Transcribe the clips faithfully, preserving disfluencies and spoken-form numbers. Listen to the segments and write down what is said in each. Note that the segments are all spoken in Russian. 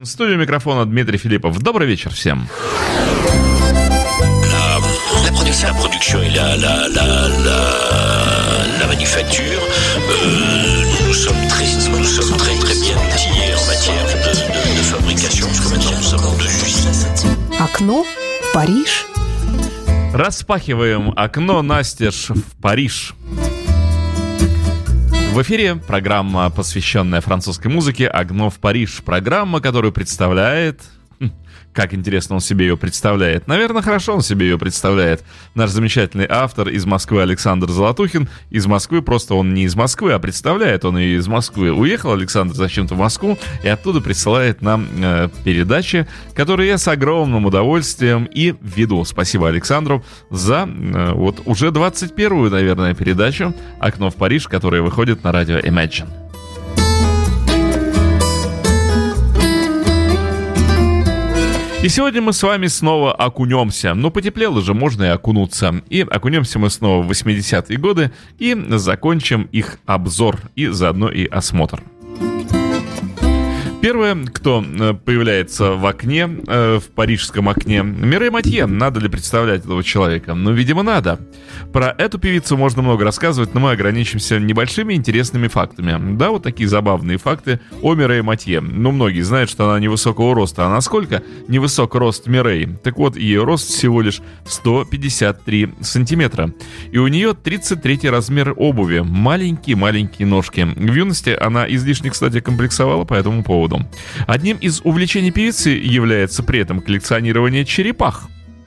В студии микрофона Дмитрий Филиппов. Добрый вечер всем. La production, la production et la, la, la, la, la manufacture, euh, nous sommes très, nous sommes très très bien outillés en matière de, de, de fabrication, parce que maintenant nous avons deux usines. Окно в Париж. Распахиваем окно настежь в Париж. В эфире программа, посвященная французской музыке «Окно в Париж». Программа, которую представляет... Как интересно он себе ее представляет. Наверное, хорошо он себе ее представляет. Наш замечательный автор из Москвы Александр Золотухин. Из Москвы, просто он не из Москвы, а представляет он ее из Москвы. Уехал Александр зачем-то в Москву и оттуда присылает нам э, передачи, которые я с огромным удовольствием и веду. Спасибо Александру за э, вот уже двадцать первую, наверное, передачу «Окно в Париж», которая выходит на радио Imagine. И сегодня мы с вами снова окунемся. Ну, потеплело же, можно и окунуться. И окунемся мы снова в восьмидесятые годы и закончим их обзор и заодно и осмотр. Первое, кто появляется в окне, в парижском окне, Мирей Матье. Надо ли представлять этого человека? Ну, видимо, надо. Про эту певицу можно много рассказывать, но мы ограничимся небольшими интересными фактами. Да, вот такие забавные факты о Мирей Матье. Ну, многие знают, что она невысокого роста. А насколько невысок рост Мирей? Так вот, ее рост всего лишь сто пятьдесят три сантиметра. И у нее тридцать третий размер обуви. Маленькие-маленькие ножки. В юности она излишне, кстати, комплексовала по этому поводу. Одним из увлечений певицы является при этом коллекционирование черепах.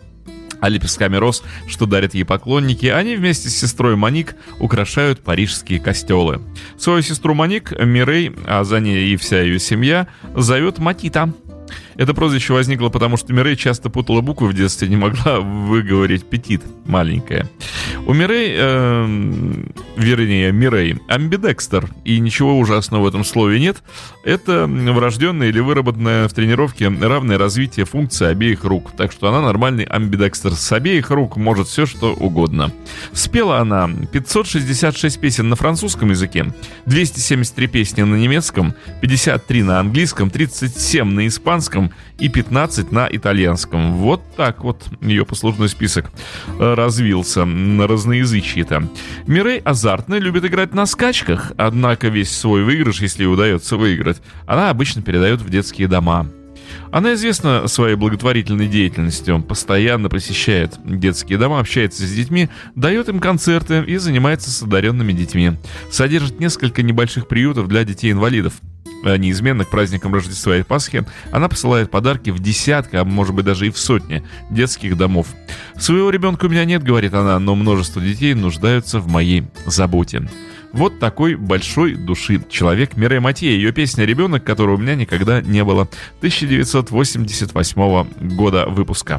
А лепестками роз, что дарят ей поклонники, они вместе с сестрой Моник украшают парижские костелы. Свою сестру Моник Мирей, а за ней и вся ее семья, зовет Матита. Это прозвище возникло потому, что Мирей часто путала буквы в детстве, не могла выговорить «петит», маленькая. У Мирей, э, вернее, Мирей, амбидекстер, и ничего ужасного в этом слове нет. Это врожденное или выработанное в тренировке равное развитие функций обеих рук. Так что она нормальный амбидекстер. С обеих рук может все, что угодно. Спела она пятьсот шестьдесят шесть песен на французском языке, двести семьдесят три песни на немецком, пятьдесят три на английском, тридцать семь на испанском и пятнадцать на итальянском. Вот так вот ее послужной список развился на разноязычие-то. Мирей азартно любит играть на скачках, однако весь свой выигрыш, если ей удается выиграть, она обычно передает в детские дома. Она известна своей благотворительной деятельностью, постоянно посещает детские дома, общается с детьми, дает им концерты и занимается с одаренными детьми. Содержит несколько небольших приютов для детей-инвалидов. Неизменно к праздникам Рождества и Пасхи она посылает подарки в десятки, а может быть даже и в сотни детских домов. «Своего ребенка у меня нет, — говорит она, — но множество детей нуждаются в моей заботе». Вот такой большой души человек Мирей Матье. Ее песня «Ребенок, которого у меня никогда не было», тысяча девятьсот восемьдесят восьмого года выпуска.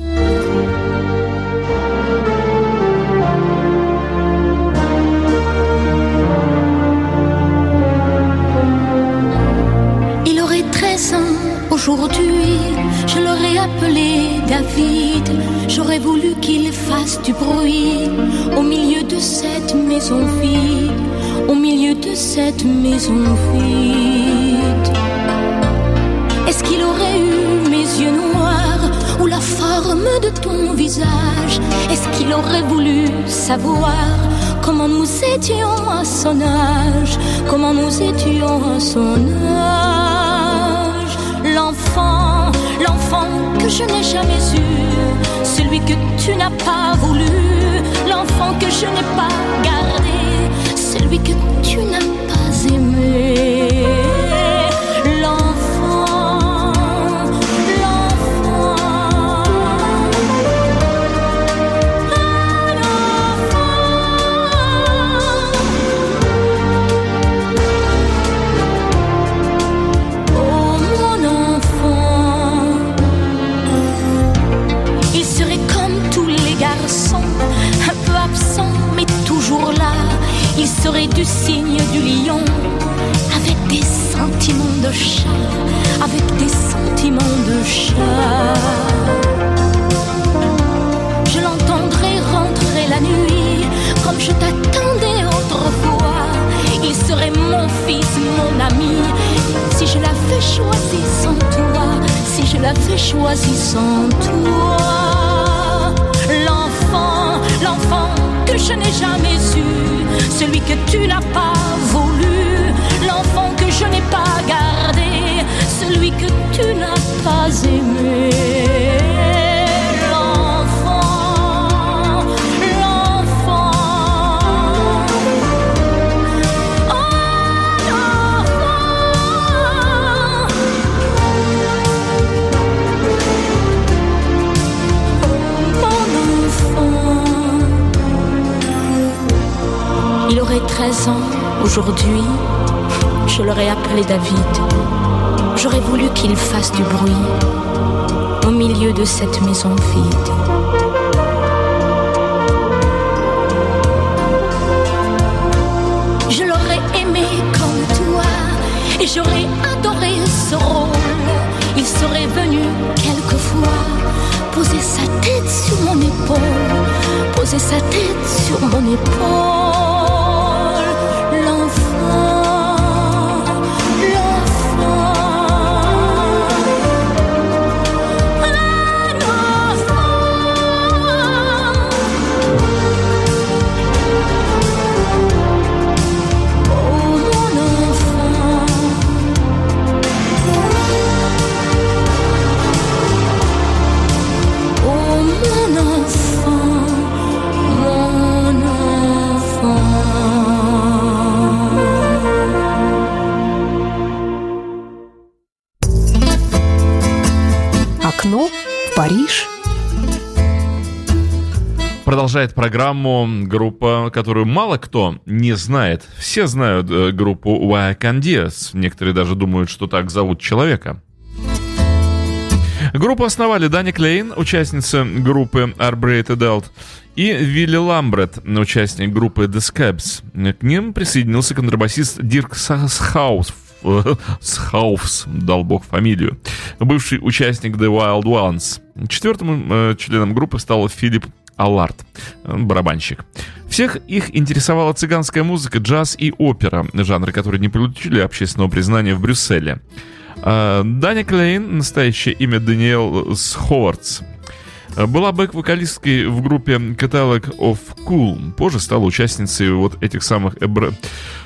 Aujourd'hui, je l'aurais appelé David. J'aurais voulu qu'il fasse du bruit au milieu de cette maison vide, au milieu de cette maison vide. Est-ce qu'il aurait eu mes yeux noirs ou la forme de ton visage? Est-ce qu'il aurait voulu savoir comment nous étions à son âge, comment nous étions à son âge? L'enfant, l'enfant que je n'ai jamais eu, celui que tu n'as pas voulu, l'enfant que je n'ai pas gardé, celui que tu n'as pas aimé. Il serait du signe du lion, avec des sentiments de chat, avec des sentiments de chat. Je l'entendrai rentrer la nuit, comme je t'attendais autrefois. Il serait mon fils, mon ami, si je l'avais choisi sans toi, si je l'avais choisi sans toi. L'enfant, l'enfant que je n'ai jamais eu, celui que tu n'as pas voulu, l'enfant que je n'ai pas gardé, celui que tu n'as pas aimé. Il aurait treize ans aujourd'hui, je l'aurais appelé David. J'aurais voulu qu'il fasse du bruit au milieu de cette maison vide. Je l'aurais aimé comme toi et j'aurais adoré ce rôle. Il serait venu quelquefois poser sa tête sur mon épaule, poser sa tête sur mon épaule. Окно в Париж. Продолжает программу группа, которую мало кто не знает. Все знают э, группу Wacandíes. Некоторые даже думают, что так зовут человека. Группу основали Дани Клейн, участница группы Arbreed Adult, и Вилли Ламбрет, участник группы The Scabs. К ним присоединился контрабасист Дирк Схаус, Схауфс, дал бог фамилию, бывший участник The Wild Ones. Четвертым э, членом группы стал Филипп Аллард, барабанщик. Всех их интересовала цыганская музыка, джаз и опера, жанры, которые не получили общественного признания в Брюсселе. Дани Клейн, настоящее имя Даниэл Сховардс, была бэк-вокалисткой в группе Catalog of Cool. Позже стала участницей вот этих самых Arbreed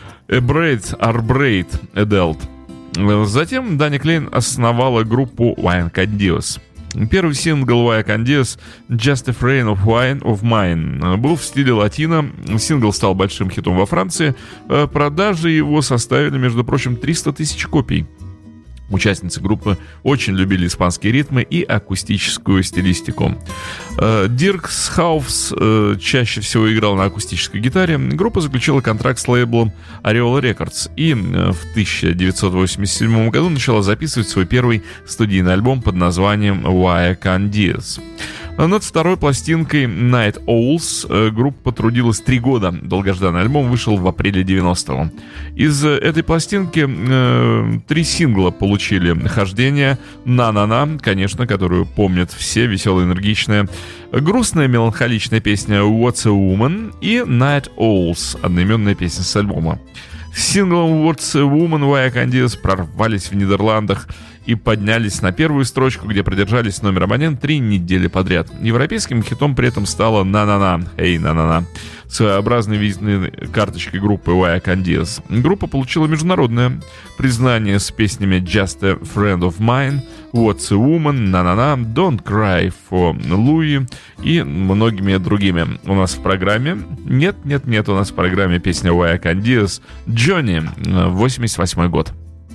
Adult. Затем Дани Клейн основала группу Wacandíes. Первый сингл Wacandíes «Just a Friend of Wine of Mine» был в стиле латино. Сингл стал большим хитом во Франции. Продажи его составили, между прочим, триста тысяч копий. Участницы группы очень любили испанские ритмы и акустическую стилистику. Дирк Схауфс чаще всего играл на акустической гитаре. Группа заключила контракт с лейблом Ariola Records и в тысяча девятьсот восемьдесят седьмом году начала записывать свой первый студийный альбом под названием Wacandíes. Над второй пластинкой Night Owls группа трудилась три года. Долгожданный альбом вышел в апреле девяностого. Из этой пластинки э, три сингла получили хождение. «На-на-на», конечно, которую помнят все, веселая, энергичная. Грустная, меланхоличная песня «What's a Woman» и «Night Owls», одноименная песня с альбома. С синглом «What's a Woman» Wacandíes прорвались в Нидерландах и поднялись на первую строчку, где продержались номером один три недели подряд. Европейским хитом при этом стала «На-на-на», «Эй, на-на-на», своеобразной визитной карточкой группы Wacandíes. Группа получила международное признание с песнями «Just a Friend of Mine», «What's a Woman», «На-на-на», «Don't Cry for Louie» и многими другими. У нас в программе... Нет-нет-нет, у нас в программе песня Wacandíes «Johnny», восемьдесят восьмой год.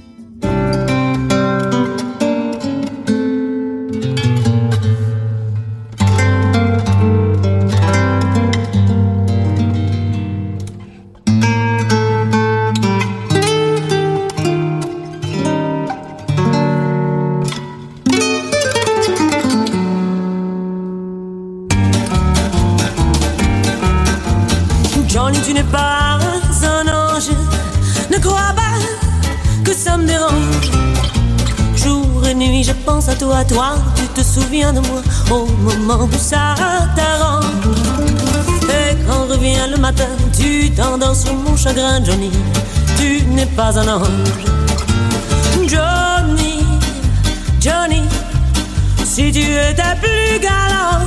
Toi, toi, tu te souviens de moi au moment où ça t'arrange. Et quand revient le matin, tu t'endors sur mon chagrin, Johnny, tu n'es pas un ange. Johnny, Johnny, si tu étais plus galant.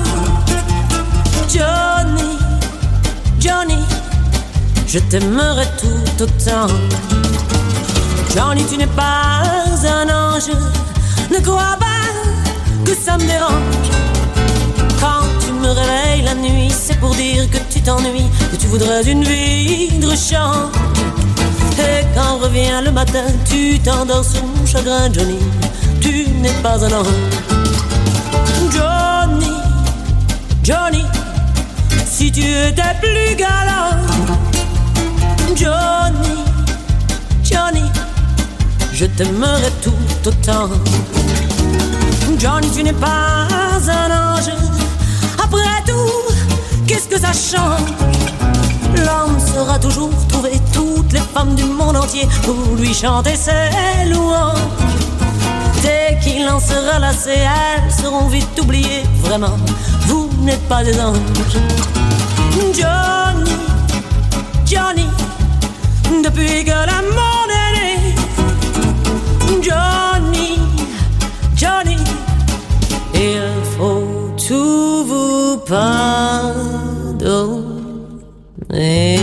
Johnny, Johnny, je t'aimerais tout autant. Johnny, tu n'es pas un ange, ne crois pas que ça me dérange. Quand tu me réveilles la nuit, c'est pour dire que tu t'ennuies, que tu voudrais une vie de rechange. Et quand revient le matin, tu t'endors sur mon chagrin. Johnny, tu n'es pas un ange. Johnny, Johnny, si tu étais plus galant. Johnny, Johnny, je t'aimerais tout autant. Johnny, tu n'es pas un ange. Après tout, qu'est-ce que ça change? L'homme saura toujours trouver toutes les femmes du monde entier pour lui chanter ses louanges. Dès qu'il en sera lassé, elles seront vite oubliées. Vraiment, vous n'êtes pas des anges. Johnny, Johnny, depuis que le monde est né. Johnny, Johnny, il faut tout vous pardonner.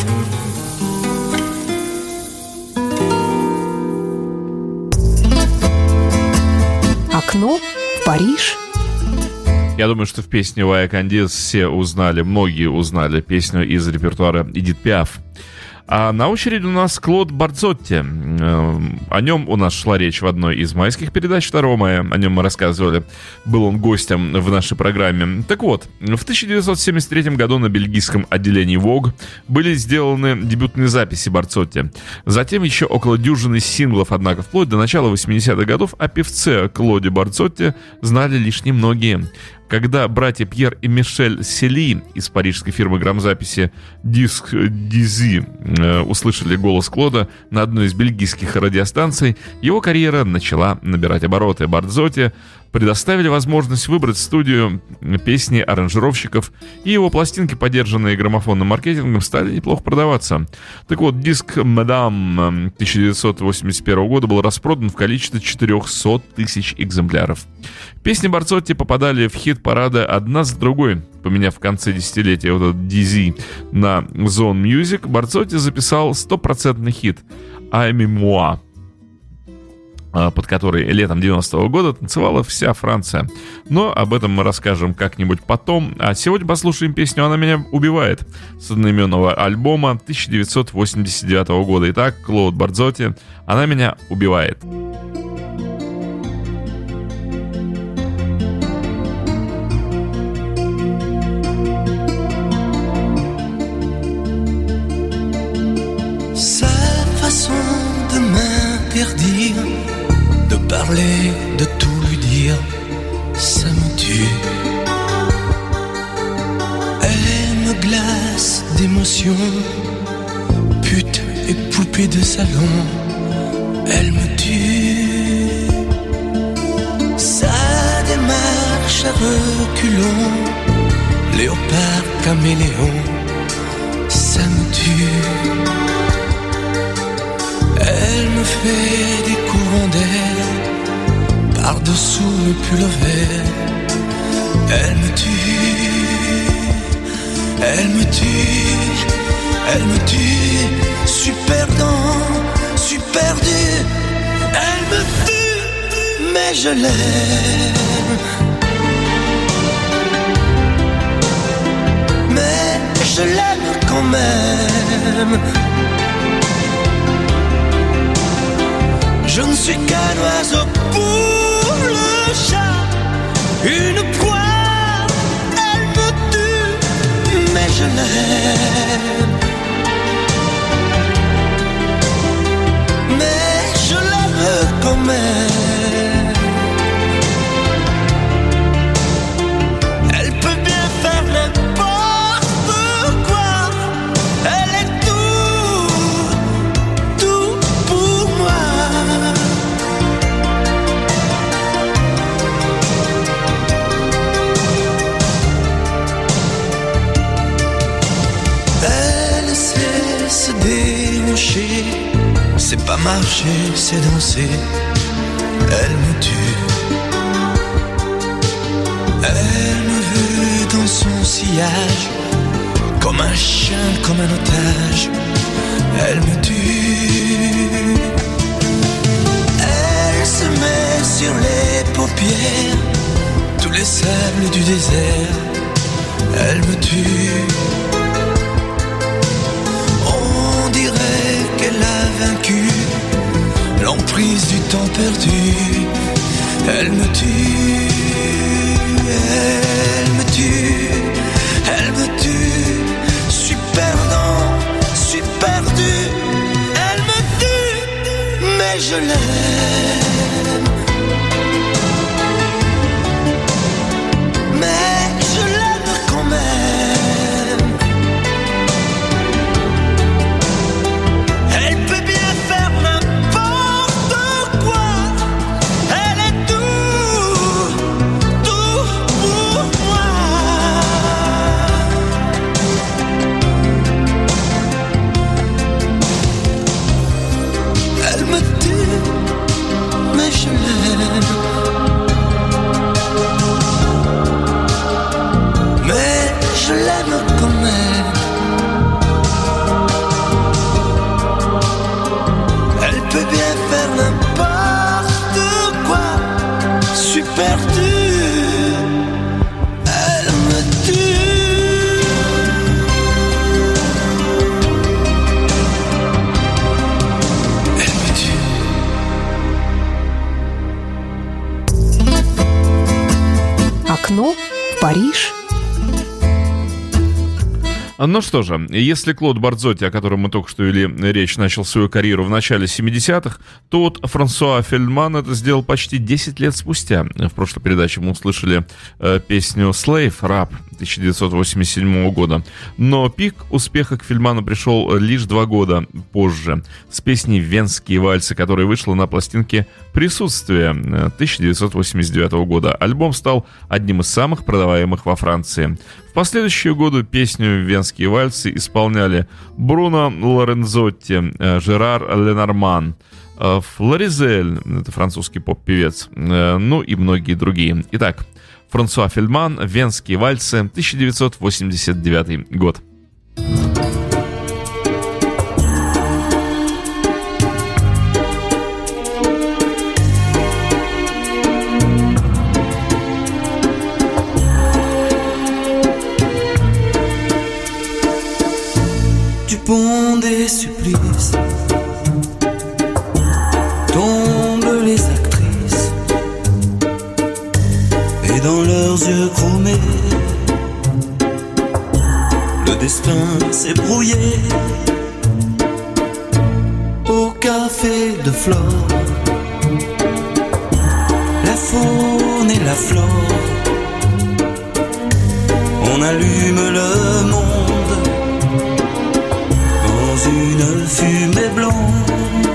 Окно в Париж. Я думаю, что в песне Вая Кандис все узнали, многие узнали песню из репертуара Эдит Пиаф. А на очереди у нас Клод Барзотти. О нем у нас шла речь в одной из майских передач, второго мая. О нем мы рассказывали. Был он гостем в нашей программе. Так вот, в тысяча девятьсот семьдесят третьем году на бельгийском отделении Vogue были сделаны дебютные записи Барзотти. Затем еще около дюжины синглов, однако вплоть до начала восьмидесятых годов о певце Клоде Барзотти знали лишь немногие. Когда братья Пьер и Мишель Сели из парижской фирмы грамзаписи Disc Dizy э, услышали голос Клода на одной из бельгийских радиостанций, его карьера начала набирать обороты. Барзотти предоставили возможность выбрать студию песни аранжировщиков, и его пластинки, поддержанные граммофонным маркетингом, стали неплохо продаваться. Так вот, диск «Мадам» тысяча девятьсот восемьдесят первого года был распродан в количестве четыреста тысяч экземпляров. Песни Барзотти попадали в хит-парады одна за другой. Поменяв в конце десятилетия вот этот Дизи на Zone Music, Барзотти записал стопроцентный хит «Ами Муа», под который летом девяностого года танцевала вся Франция. Но об этом мы расскажем как-нибудь потом. А сегодня послушаем песню «Она меня убивает» с одноименного альбома тысяча девятьсот восемьдесят девятого года. Итак, Клод Барзотти «Она меня убивает». De parler, de tout lui dire, ça me tue. Elle me glace d'émotion, pute et poupée de salon, elle me tue. Sa démarche à reculons, léopard caméléon, ça me tue. Elle me fait des courants d'air par-dessous le pullover. Elle me tue, elle me tue, elle me tue. Super dans, super dur. Elle me tue, mais je l'aime. Mais je l'aime quand même. Je ne suis qu'un oiseau pour le chat, une proie, elle me tue, mais je l'aime. Mais je l'aime quand même. Elle peut bien faire n'importe quoi, elle est tout, tout pour moi. C'est pas marcher, c'est danser. Elle me tue. voyage. Comme un chien, comme un otage, elle me tue. Elle se met sur les paupières tous les sables du désert, elle me tue. On dirait qu'elle a vaincu l'emprise du temps perdu, elle me tue, elle me tue, elle me tue. Je suis perdant, je suis perdu, elle me tue, mais je l'aime. Mais je l'aime quand même. Elle peut bien faire n'importe quoi. Elle est tout, tout pour moi. Elle me tue, mais je l'aime. Mais je l'aime quand même. Elle peut bien faire n'importe quoi. Je suis perdu. Elle me tue. Elle me tue. Окно в Париж. Ну что же, если Клод Бардзотти, о котором мы только что вели речь, начал свою карьеру в начале семидесятых, то вот Франсуа Фельдман это сделал почти десять лет спустя. В прошлой передаче мы услышали э, песню «Slave», «Раб» тысяча девятьсот восемьдесят седьмого года. Но пик успеха к Фельдману пришел лишь два года позже, с песней «Венские вальсы», которая вышла на пластинке «Присутствие» тысяча девятьсот восемьдесят девятого года. Альбом стал одним из самых продаваемых во Франции. В последующие годы песню «Венские вальсы» исполняли Бруно Лорензотти, Жерар Ленорман, Флоризель, это французский поп-певец, ну и многие другие. Итак, Франсуа Фельдман, «Венские вальсы», тысяча девятьсот восемьдесят девятый год. Pont des supplices, tombent les actrices, et dans leurs yeux chromés, le destin s'est brouillé. Au café de Flore, la faune et la flore, on allume le monde une fumée blonde.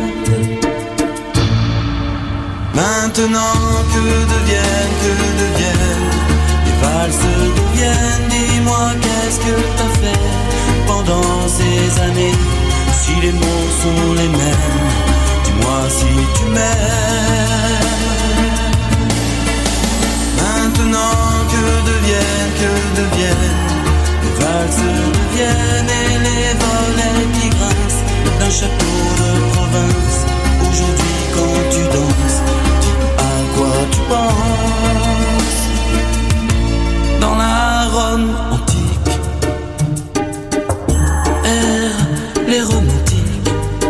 Maintenant que deviennent, que deviennent les valses deviennent. Dis-moi qu'est-ce que t'as fait pendant ces années? Si les mots sont les mêmes, dis-moi si tu m'aimes. Maintenant que deviennent, que deviennent les valses deviennent et les volets qui grincent d'un château de province. Aujourd'hui quand tu danses, dis à quoi tu penses. Dans la Rome antique errent les romantiques,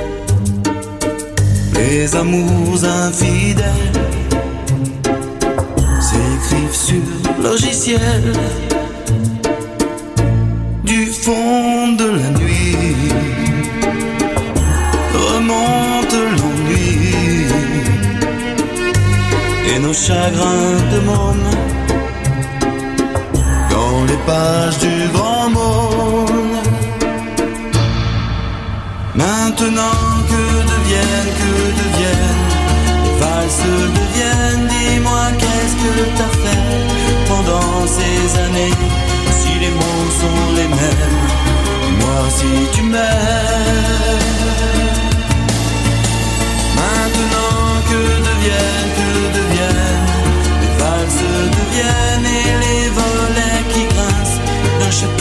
les amours infidèles s'écrivent sur logiciel. Du fond de la nuit remonte l'ennui et nos chagrins de môme dans les pages du grand monde. Maintenant que deviennent, que deviennent les valses deviennent. Dis-moi qu'est-ce que t'as fait pendant ces années? Si les mots sont les mêmes, dis-moi si tu m'aimes. Maintenant que deviennent, que deviennent les valses deviennent et les volets qui grincent d'un château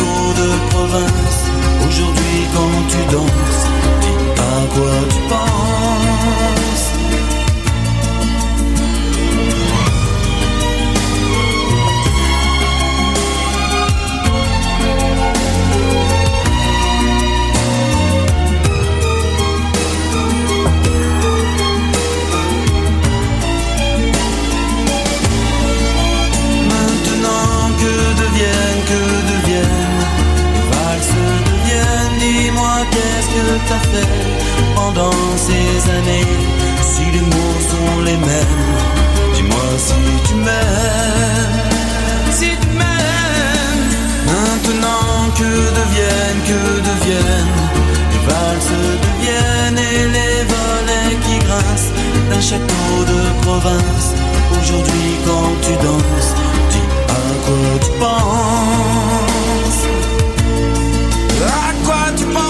fait pendant ces années. Si les mots sont les mêmes, dis-moi si tu m'aimes, si tu m'aimes. Maintenant que deviennent, que deviennent les valses deviennent et les volets qui grincent d'un château de province. Aujourd'hui quand tu danses, dis à quoi tu penses, à quoi tu penses.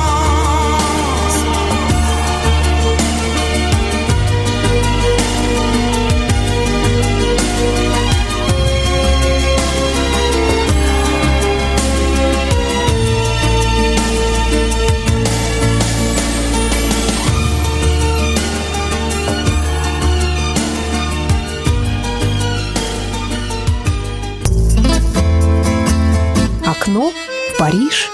Окно в Париж.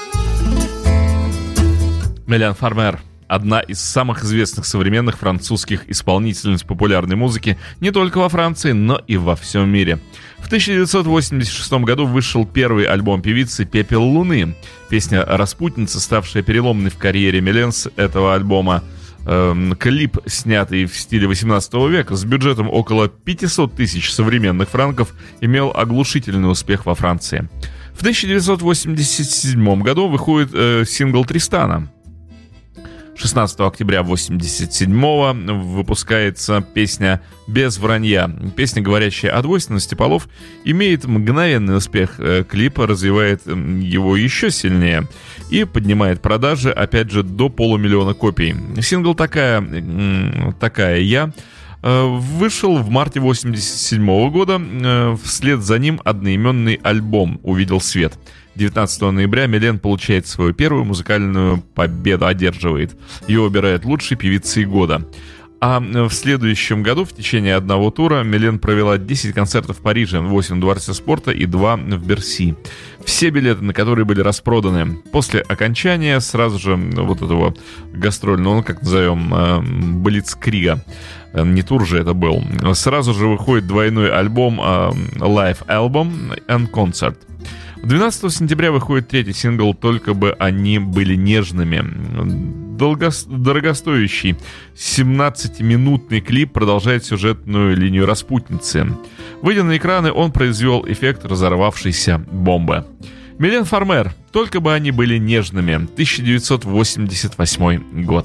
Милен Фармер – одна из самых известных современных французских исполнительниц популярной музыки не только во Франции, но и во всем мире. В тысяча девятьсот восемьдесят шестом году вышел первый альбом певицы «Пепел луны». Песня «Распутница», ставшая переломной в карьере Милен с этого альбома. Эм, клип, снятый в стиле восемнадцатого века, с бюджетом около пятьсот тысяч современных франков, имел оглушительный успех во Франции. В тысяча девятьсот восемьдесят седьмом году выходит э, сингл «Тристана». шестнадцатого октября восемьдесят седьмого выпускается песня «Без вранья». Песня, говорящая о двойственности полов, имеет мгновенный успех. Клип развивает его еще сильнее и поднимает продажи, опять же, до полумиллиона копий. Сингл «Такая, такая я» вышел в марте восемьдесят седьмого года. Вслед за ним одноименный альбом увидел свет. девятнадцатого ноября Милен получает свою первую музыкальную победу, одерживает. Ее выбирают лучшей певицей года. А в следующем году в течение одного тура Милен провела десять концертов в Париже, восемь в Дворце спорта и два в Берси. Все билеты на которые были распроданы. После окончания сразу же вот этого гастрольного, ну как назовем, блицкрига, не тур же это был, сразу же выходит двойной альбом Live Album and Concert. двенадцатого сентября выходит третий сингл «Только бы они были нежными». Долго... Дорогостоящий семнадцатиминутный клип продолжает сюжетную линию распутницы. Выйдя на экраны, он произвел эффект разорвавшейся бомбы. Милен Фармер «Только бы они были нежными», тысяча девятьсот восемьдесят восьмой год.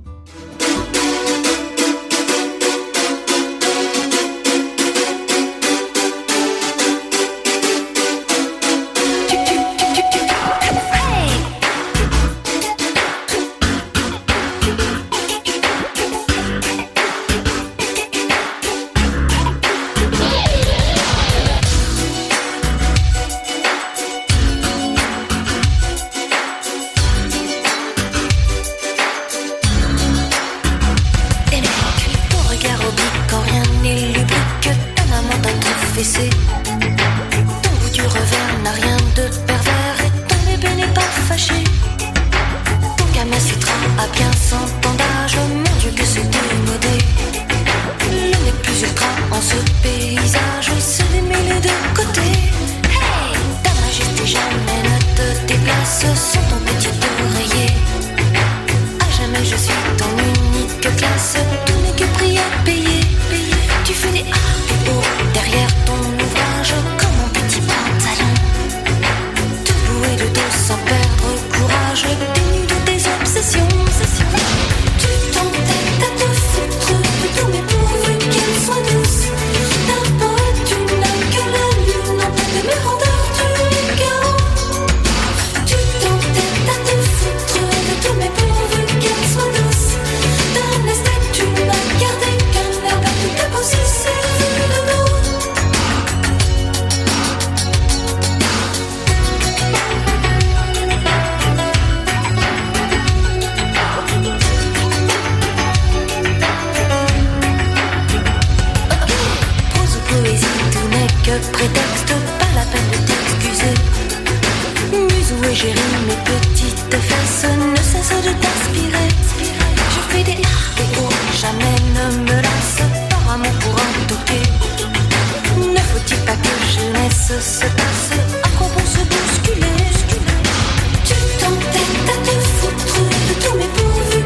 Se passe, à quoi bon se bousculer? Tu t'entêtes à te foutre de tous mes pourvus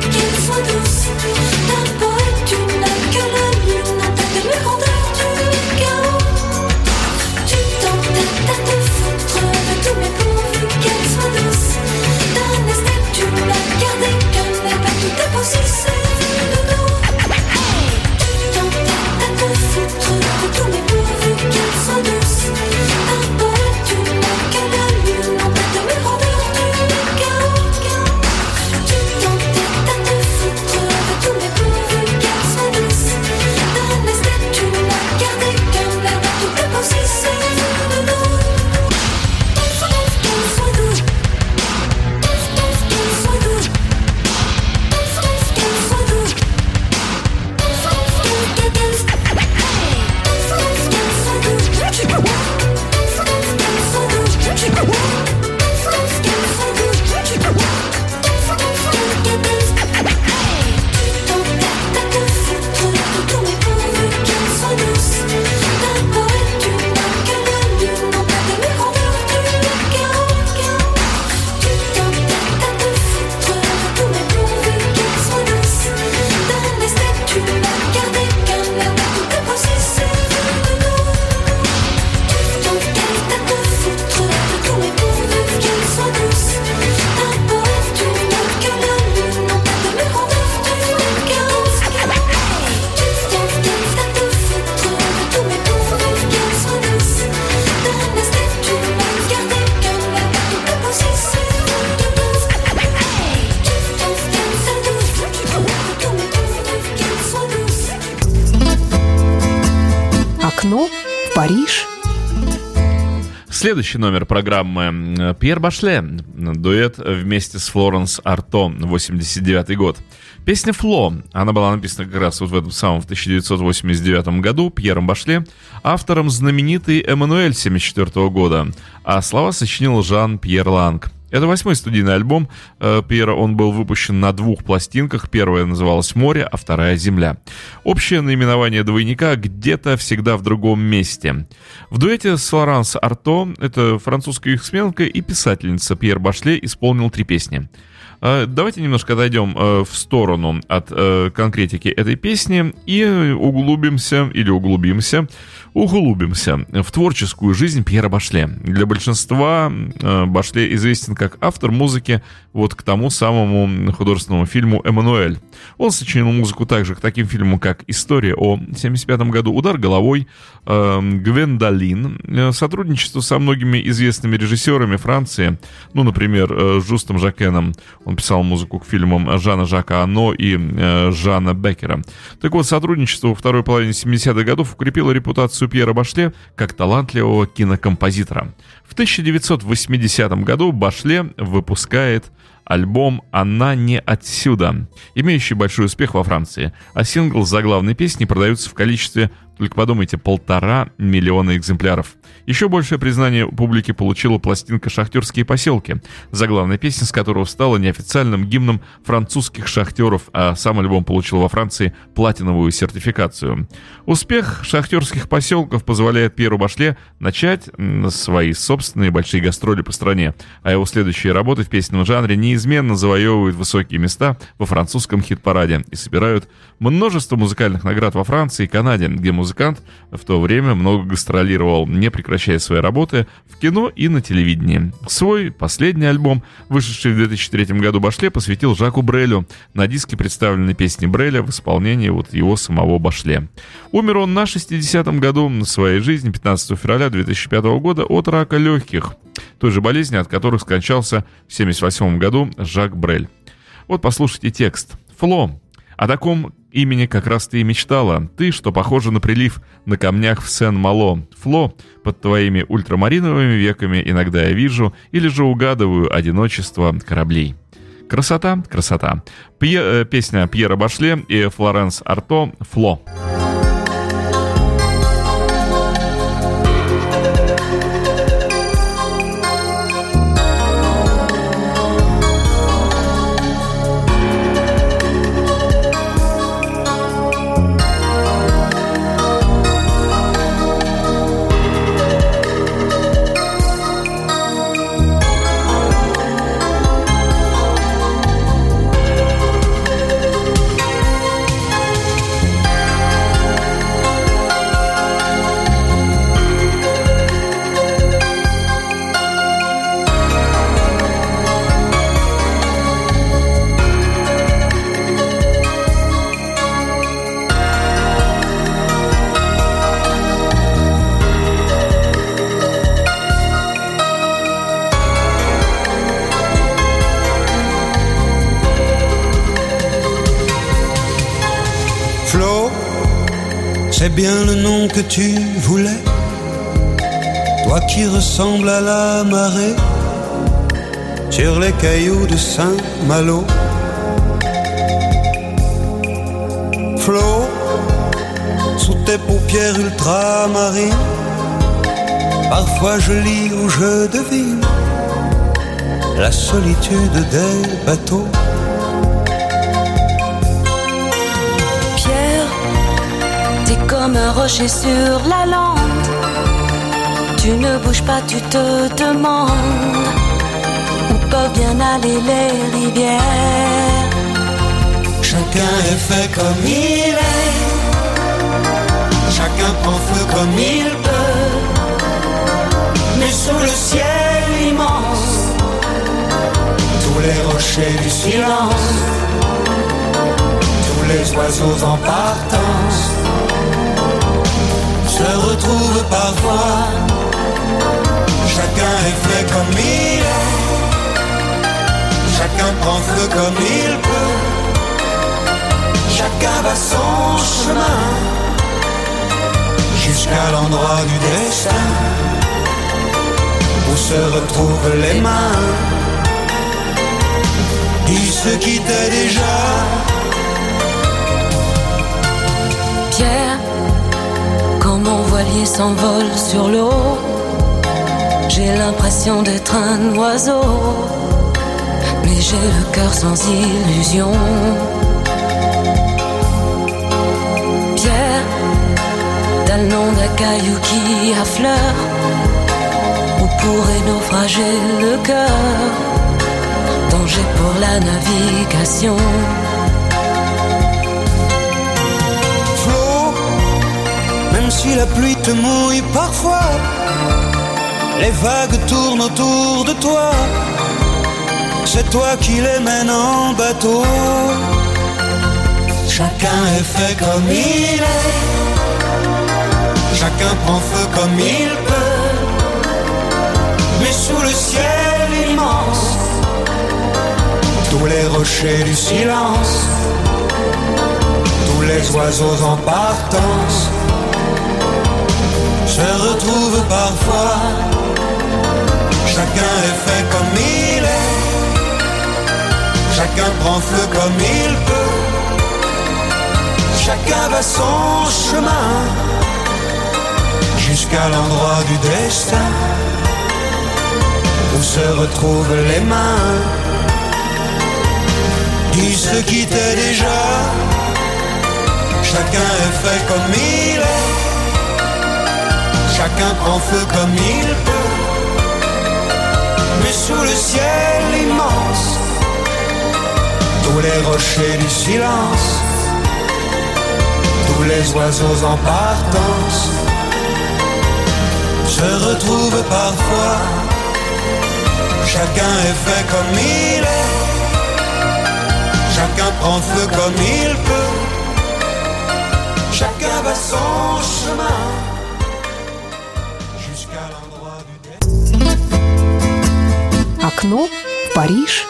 Париж. Следующий номер программы Пьер Башле. Дуэт вместе с Флоренс Арто, восемьдесят девятый год. Песня «Фло», она была написана как раз вот в этом самом в тысяча девятьсот восемьдесят девятом году Пьером Башле, автором знаменитый «Эммануэль» семьдесят четвёртого года, а слова сочинил Жан-Пьер Ланг. Это восьмой студийный альбом э, Пьера, он был выпущен на двух пластинках. Первая называлась «Море», а вторая «Земля». Общее наименование двойника «Где-то всегда в другом месте». В дуэте с Флоранс Арто, это французская яхтсменка и писательница, Пьер Башле исполнил три песни. Э, давайте немножко отойдем э, в сторону от э, конкретики этой песни и углубимся, или углубимся, углубимся в творческую жизнь Пьера Башле. Для большинства э, Башле известен как автор музыки вот к тому самому художественному фильму «Эммануэль». Он сочинил музыку также к таким фильмам, как «История о семьдесят пятом году», «Удар головой», э, «Гвендолин», э, сотрудничество со многими известными режиссерами Франции, ну, например, э, Жустом Жакеном. Он писал музыку к фильмам Жана Жака Ано и э, Жана Беккера. Так вот, сотрудничество во второй половине семидесятых годов укрепило репутацию Пьера Башле как талантливого кинокомпозитора. В тысяча девятьсот восьмидесятом году Башле выпускает альбом «Она не отсюда», имеющий большой успех во Франции, а сингл с заглавной песней продается в количестве, только подумайте, полтора миллиона экземпляров. Еще большее признание у публики получила пластинка «Шахтерские поселки», заглавная песня с которого стала неофициальным гимном французских шахтеров, а сам альбом получил во Франции платиновую сертификацию. Успех «Шахтерских поселков» позволяет Пьеру Башле начать свои собственные большие гастроли по стране, а его следующие работы в песенном жанре неизменно завоевывают высокие места во французском хит-параде и собирают множество музыкальных наград во Франции и Канаде, где музыкант в то время много гастролировал, не прекращая свои работы в кино и на телевидении. Свой последний альбом, вышедший в две тысячи третьем году, Башле посвятил Жаку Брелю. На диске представлены песни Бреля в исполнении вот его самого Башле. Умер он на шестидесятом году своей жизни, пятнадцатого февраля две тысячи пятого года, от рака легких, той же болезни, от которых скончался в семьдесят восьмом году Жак Брель. Вот послушайте текст. «Фло. О таком имени как раз ты и мечтала. Ты, что похожа на прилив на камнях в Сен-Мало. Фло, под твоими ультрамариновыми веками иногда я вижу или же угадываю одиночество кораблей». Красота, красота. Пье, э, песня Пьера Башле и Флоренс Арто «Фло». C'est bien le nom que tu voulais, toi qui ressembles à la marée sur les cailloux de Saint-Malo. Flo, sous tes paupières ultramarines, parfois je lis ou je devine la solitude des bateaux. Comme un rocher sur la lande, tu ne bouges pas, tu te demandes où peuvent bien aller les rivières. Chacun est fait comme il est, chacun prend feu comme il peut, mais sous le ciel immense, tous les rochers du silence, tous les oiseaux en partance se retrouvent parfois. Chacun est fait comme il est, chacun prend feu comme il peut, chacun va son chemin. jusqu'à l'endroit du destin où se retrouvent les mains. Dis ce qui t'est déjà. Pierre, quand mon voilier s'envole sur l'eau, j'ai l'impression d'être un oiseau, mais j'ai le cœur sans illusion. Pierre, t'as le nom d'un caillou qui affleure, où pourrait naufrager le cœur. Danger pour la navigation. Flo, même si la pluie te mouille parfois, les vagues tournent autour de toi. C'est toi qui les mènes en bateau. Chacun est fait comme il est, chacun prend feu comme il peut. Mais sous le ciel immense, tous les rochers du silence, tous les oiseaux en partance se retrouvent parfois. Chacun est fait comme il est, chacun prend feu comme il peut. Chacun va son chemin jusqu'à l'endroit du destin où se retrouvent les mains. Dis ce qui t'est déjà. Chacun est fait comme il est, chacun prend feu comme il peut. Mais sous le ciel immense, tous les rochers du silence, tous les oiseaux en partance se retrouvent parfois. Chacun est fait comme il est, chacun prend feu comme il peut. Chacun va son chemin jusqu'à l'endroit du destin. Окно в Париж.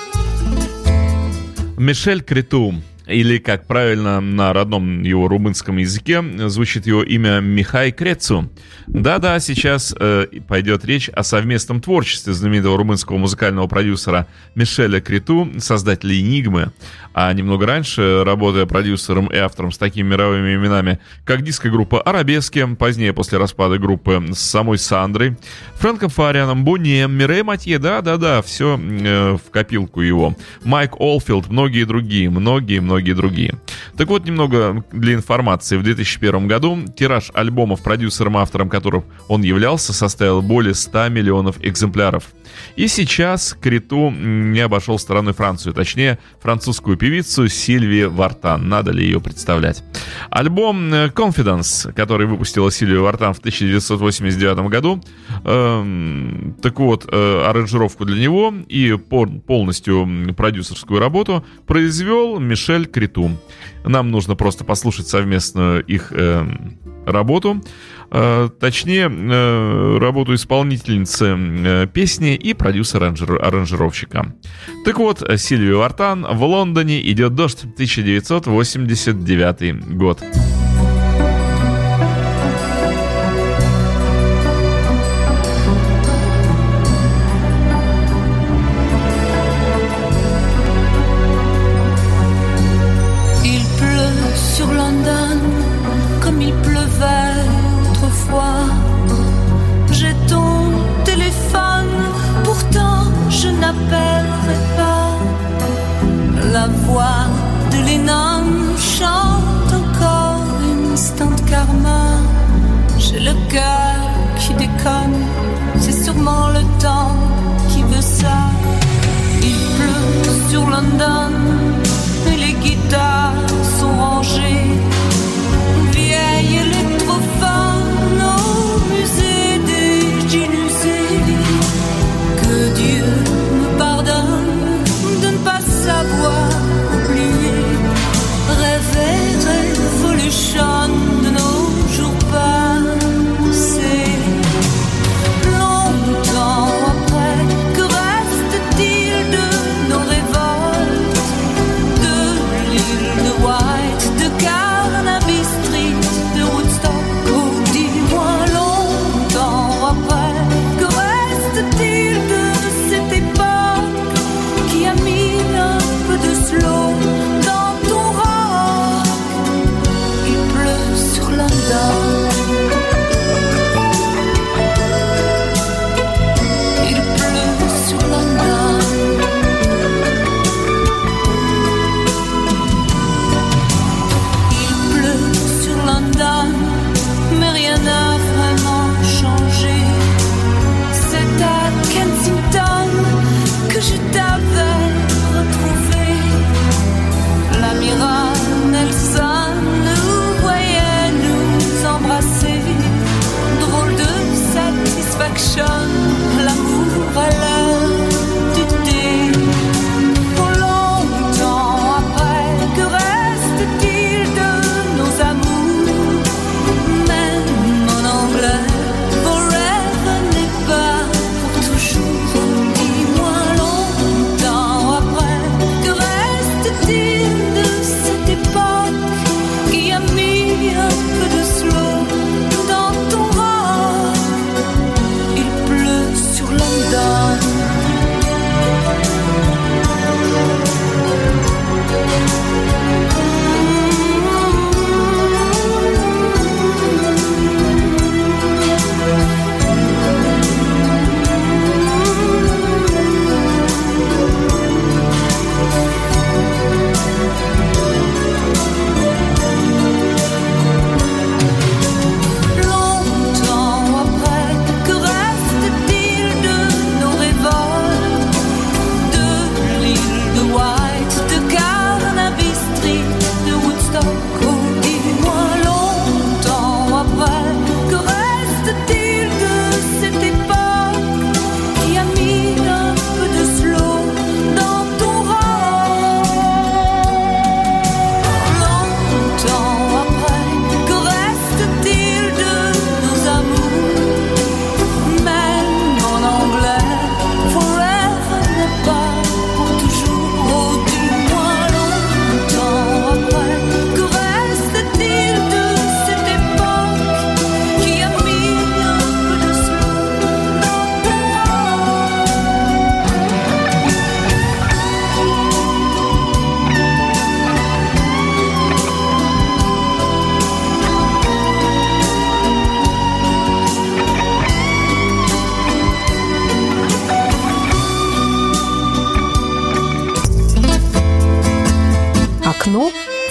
Мишель Криту, или, как правильно на родном его румынском языке звучит его имя, Михай Крецу. Да-да, сейчас э, пойдет речь о совместном творчестве знаменитого румынского музыкального продюсера Мишеля Криту, создателя «Энигмы», а немного раньше, работая продюсером и автором с такими мировыми именами, как диско-группа «Арабески», позднее после распада группы с самой Сандрой, Фрэнком Фарианом, Боне, Мирей Матье, да-да-да, все э, в копилку его, Майк Олфилд, многие другие, многие-многие другие. Так вот, немного для информации. В две тысячи первом году тираж альбомов, продюсером-автором которых он являлся, составил более ста миллионов экземпляров. И сейчас Криту не обошел стороной Францию, точнее, французскую певицу Сильвию Вартан. Надо ли ее представлять? Альбом Confidence, который выпустила Сильвия Вартан в тысяча девятьсот восемьдесят девятом году, э, так вот, э, аранжировку для него и полностью продюсерскую работу произвел Мишель Криту. Нам нужно просто послушать совместную их э, работу, э, точнее, э, работу исполнительницы э, песни и продюсера-аранжировщика. Так вот, Сильвия Вартан, «В Лондоне идет дождь», тысяча девятьсот восемьдесят девятый год. La voix de Lennon chante encore.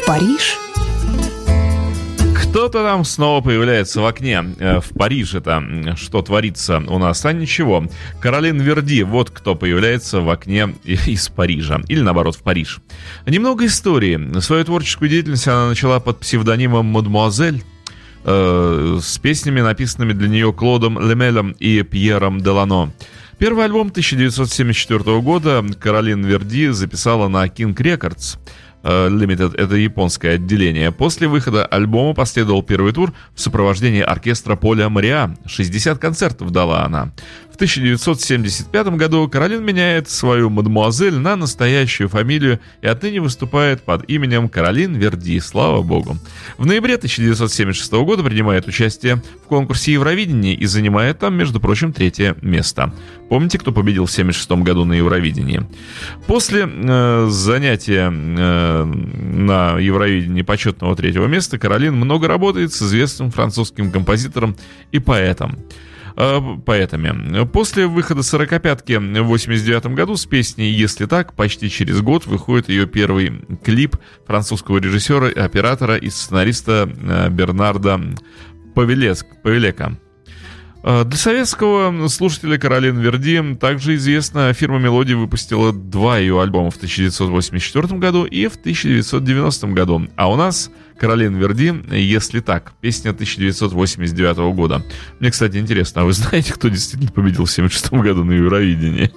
Париж. Кто-то там снова появляется в окне. В Париже-то что творится у нас? А ничего. Каролин Верди, вот кто появляется в окне из Парижа. Или наоборот, в Париж. Немного истории. Свою творческую деятельность она начала под псевдонимом «Мадемуазель», э, с песнями, написанными для нее Клодом Лемелем и Пьером Делано. Первый альбом тысяча девятьсот семьдесят четвёртого года Каролин Верди записала на King Records Limited, это японское отделение. После выхода альбома последовал первый тур в сопровождении оркестра Поля Мариа. шестьдесят концертов дала она. В тысяча девятьсот семьдесят пятом году Каролин меняет свою «Мадемуазель» на настоящую фамилию и отныне выступает под именем Каролин Верди, слава богу. В ноябре тысяча девятьсот семьдесят шестого года принимает участие в конкурсе Евровидения и занимает там, между прочим, третье место. Помните, кто победил в семьдесят шестом году на Евровидении? После э, занятия э, на Евровидении почетного третьего места Каролин много работает с известным французским композитором и поэтом. поэтами. После выхода «Сорокопятки» в восемьдесят девятом году с песней «Если так», почти через год выходит ее первый клип французского режиссера, оператора и сценариста Бернарда Павелека. Для советского слушателя Каролин Верди также известна, фирма «Мелодия» выпустила два ее альбома в тысяча девятьсот восемьдесят четвёртом году и в тысяча девятьсот девяностом году. А у нас Каролин Верди «Если так», песня тысяча девятьсот восемьдесят девятого года. Мне, кстати, интересно, а вы знаете, кто действительно победил в семьдесят шестом году на Евровидении?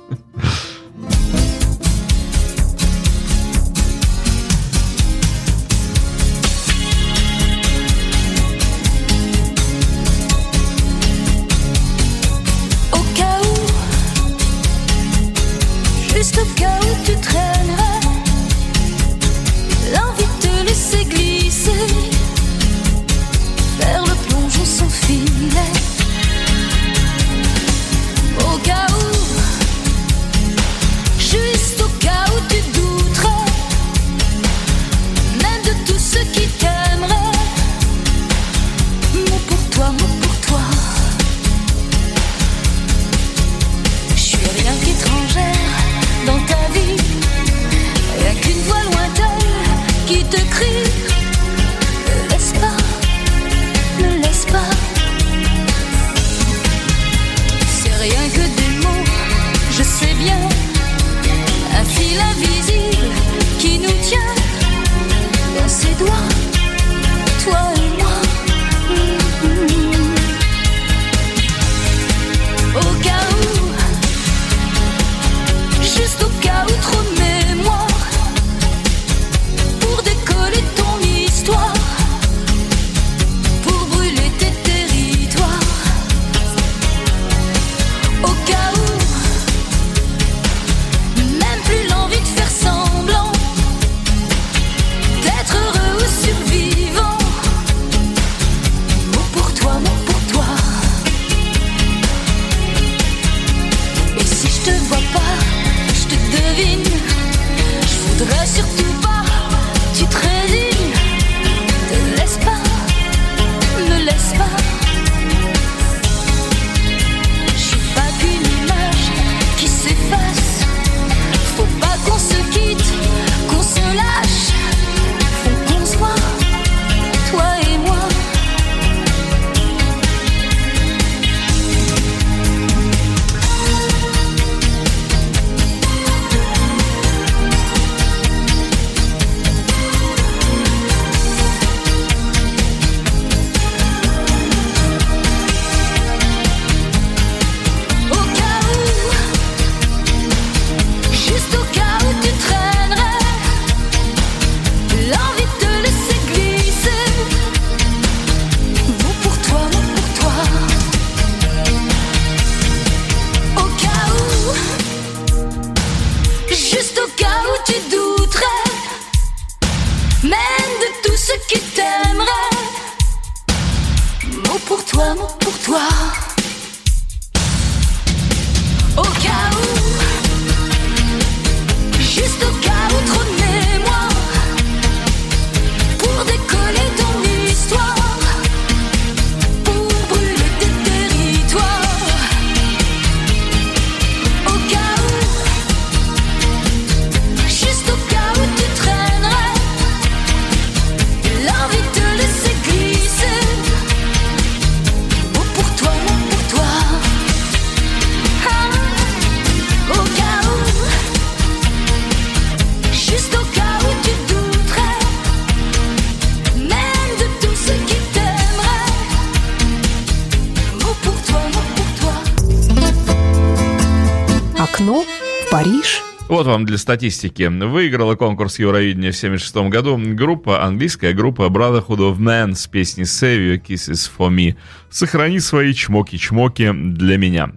Окно в Париж. Вот вам для статистики. Выиграла конкурс Евровидения в семьдесят шестом году группа, английская группа Brotherhood of Man с песней Save Your Kisses for Me. Сохрани свои чмоки-чмоки для меня.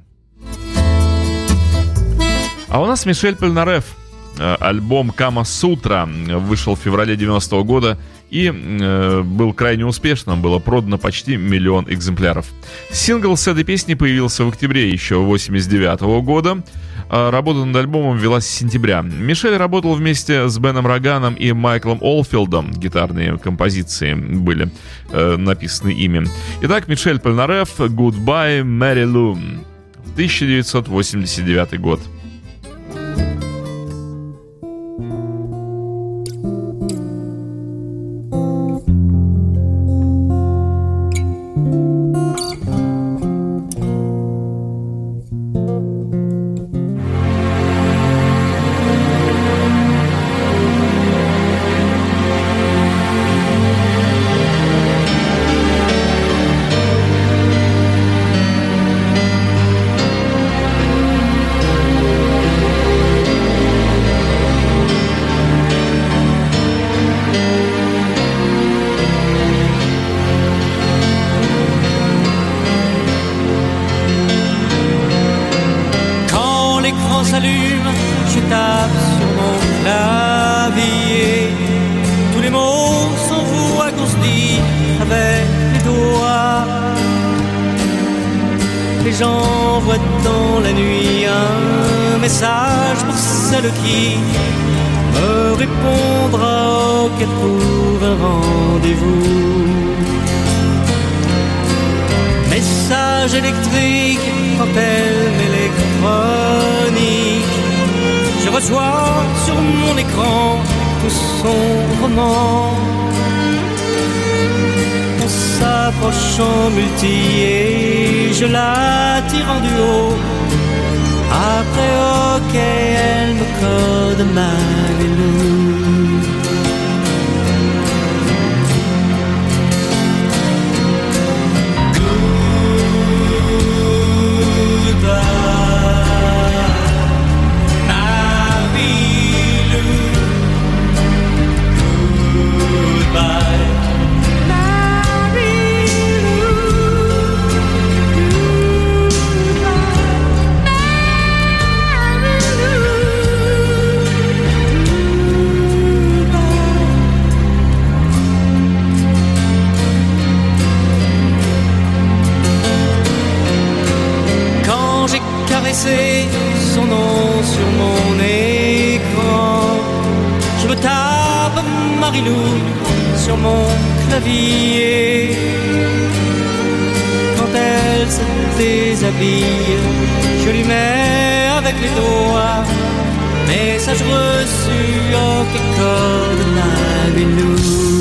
А у нас Мишель Польнареф. Альбом «Кама Сутра» вышел в феврале девяностого года и э, был крайне успешным. Было продано почти миллион экземпляров. Сингл с этой песни появился в октябре еще восемьдесят девятого года. Работа над альбомом велась с сентября. Мишель работал вместе с Беном Роганом и Майклом Олфилдом. Гитарные композиции были э, написаны ими. Итак, Мишель Польнареф, «Goodbye, Mary Lou», тысяча девятьсот восемьдесят девятый год. Son nom sur mon écran, je me tape Marilou sur mon clavier. Quand elle se déshabille, je lui mets avec les doigts message reçu au code de Marilou.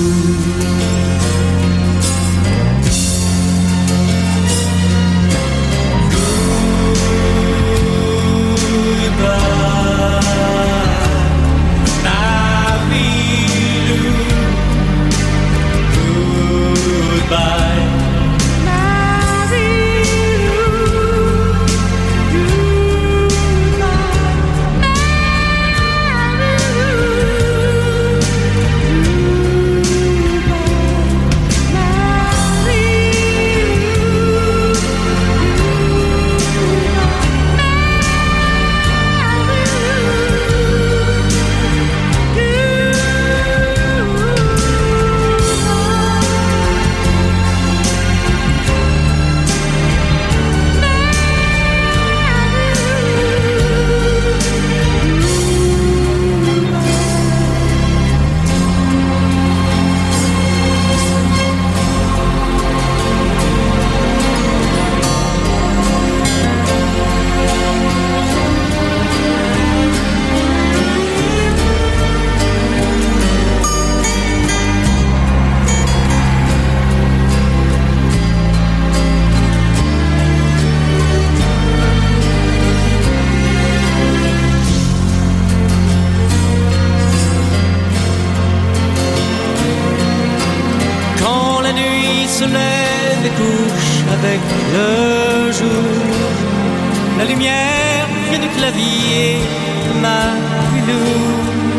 se lève et couche avec le jour. La lumière pied du clavier, ma pilou.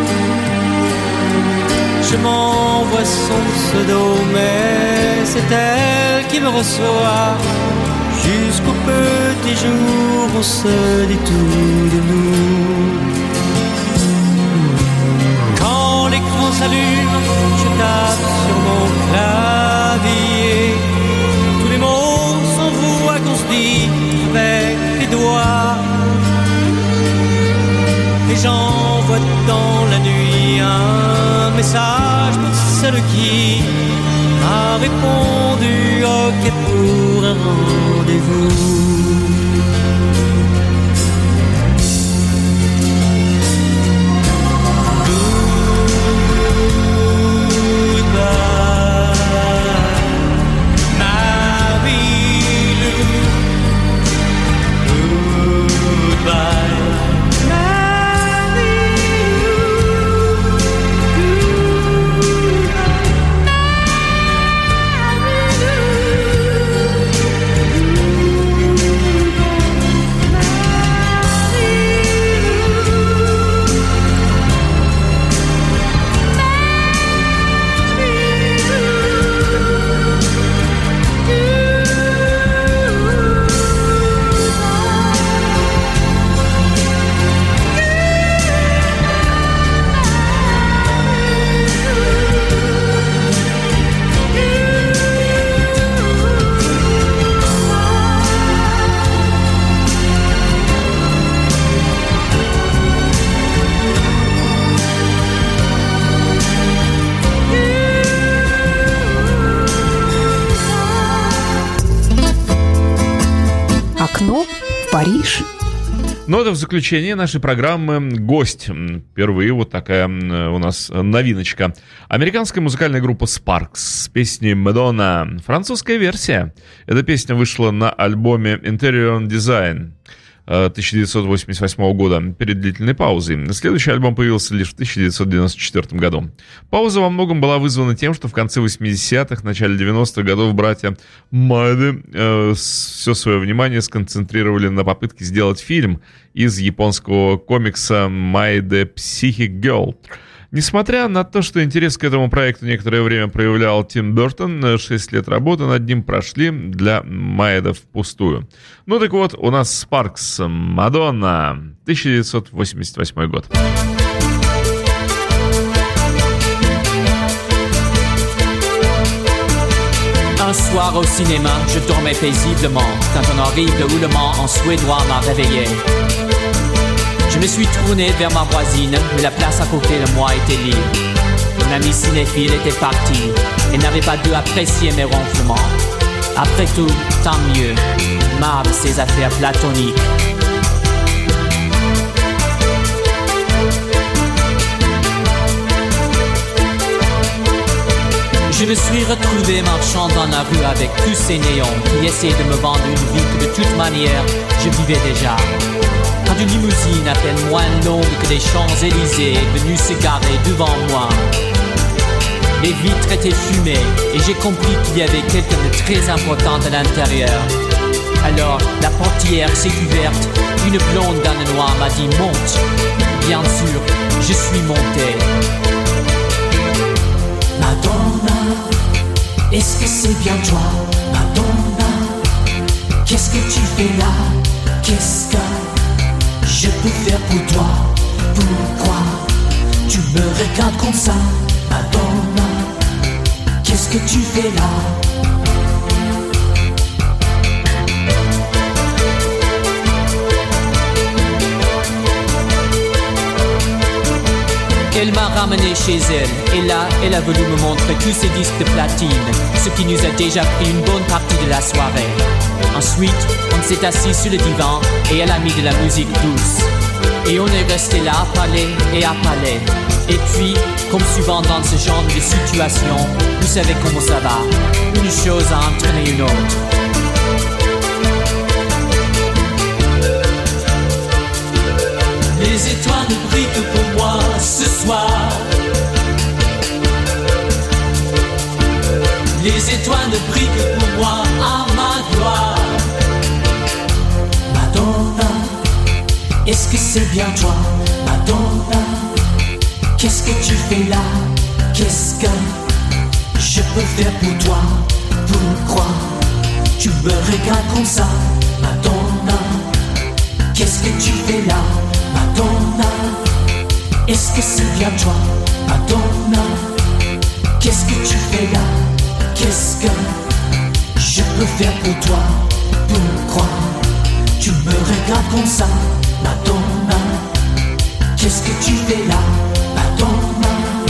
Je m'envoie son pseudo, mais c'est elle qui me reçoit. Jusqu'au petit jour, on se dit tout de nous. Quand l'écran s'allume, je tape sur mon clavier. Tous les mots s'envoient qu'on se dit avec les doigts. Et j'envoie dans la nuit un message pour celle qui a répondu OK pour un rendez-vous. Окно в Париж. Ну, это в заключение нашей программы «Гость». Впервые вот такая у нас новиночка. Американская музыкальная группа Sparks с песней «Madonna». Французская версия. Эта песня вышла на альбоме Interior Design тысяча девятьсот восемьдесят восьмого года, перед длительной паузой. Следующий альбом появился лишь в тысяча девятьсот девяносто четвёртом году. Пауза во многом была вызвана тем, что в конце восьмидесятых, начале девяностых годов братья Маэда э, все свое внимание сконцентрировали на попытке сделать фильм из японского комикса Maide Psychic Girl. Несмотря на то, что интерес к этому проекту некоторое время проявлял Тим Бертон, шесть лет работы над ним прошли для Маэда впустую. Ну так вот, у нас Sparks, Madonna, тысяча девятьсот восемьдесят восьмой год. Un soir au cinéma, je dormais paisiblement quand un horrible houlement en suédois m'a réveillé. Je me suis tourné vers ma voisine, mais la place à côté de moi était libre. Mon ami cinéphile était parti et n'avait pas dû apprécier mes ronflements. Après tout, tant mieux, marre de ses affaires platoniques. Je me suis retrouvé marchant dans la rue avec tous ces néons qui essayaient de me vendre une vie que de toute manière, je vivais déjà. Quand une limousine à peine moins longue que des Champs-Élysées est venue se garer devant moi. Les vitres étaient fumées et j'ai compris qu'il y avait quelqu'un de très important à l'intérieur. Alors la portière s'est ouverte, une blonde dans le noir m'a dit monte. Bien sûr, je suis monté. Madonna, est-ce que c'est bien toi, Madonna? Qu'est-ce que tu fais là? Qu'est-ce que je peux faire pour toi? Pourquoi tu me regardes comme ça, Madonna? Qu'est-ce que tu fais là? Elle m'a ramené chez elle, et là, elle a voulu me montrer tous ses disques de platine, ce qui nous a déjà pris une bonne partie de la soirée. Ensuite, on s'est assis sur le divan, et elle a mis de la musique douce. Et on est resté là à parler et à parler. Et puis, comme souvent dans ce genre de situation, vous savez comment ça va, une chose a entraîné une autre. Les étoiles brillent pour moi ce soir. Les étoiles brillent pour moi à ma gloire. Madonna, est-ce que c'est bien toi, Madonna? Qu'est-ce que tu fais là? Qu'est-ce que je peux faire pour toi? Pourquoi tu me regardes comme ça, Madonna? Qu'est-ce que tu fais là, Madonna? Est-ce que c'est bien toi, Madonna? Qu'est-ce que tu fais là? Qu'est-ce que je peux faire pour toi? Pourquoi tu me regardes comme ça, Madonna? Qu'est-ce que tu fais là, Madonna?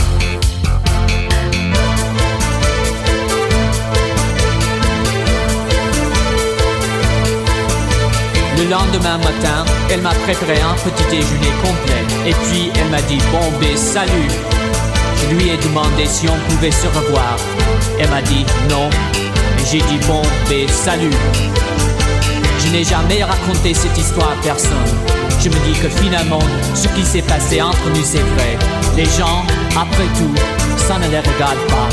Le lendemain matin, elle m'a préparé un petit déjeuner complet. Et puis elle m'a dit bon ben salut. Je lui ai demandé si on pouvait se revoir. Elle m'a dit non. Et j'ai dit bon ben salut. Je n'ai jamais raconté cette histoire à personne. Je me dis que finalement, ce qui s'est passé entre nous c'est vrai. Les gens, après tout, ça ne les regarde pas.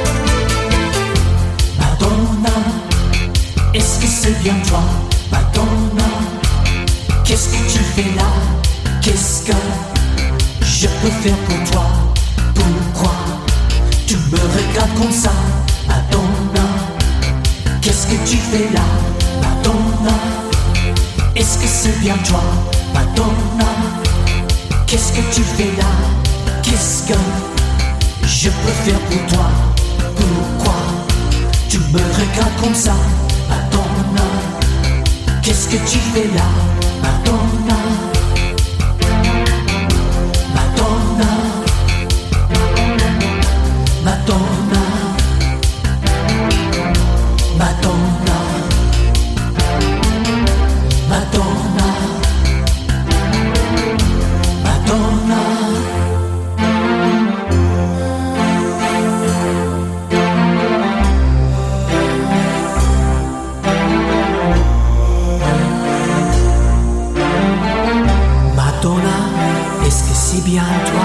Madonna, est-ce que c'est bien toi, Madonna? Qu'est-ce que tu fais là? Qu'est-ce que je peux faire pour toi? Pourquoi tu me regardes comme ça, Madonna? Qu'est-ce que tu fais là, Madonna? Est-ce que c'est bien toi, Madonna? Qu'est-ce que tu fais là? Qu'est-ce que je peux faire pour toi? Pourquoi tu me regardes comme ça, Madonna? Qu'est-ce que tu fais là, Madonna? Madonna, Madonna, Madonna, Madonna, Madonna. Madonna, est-ce que c'est bien toi?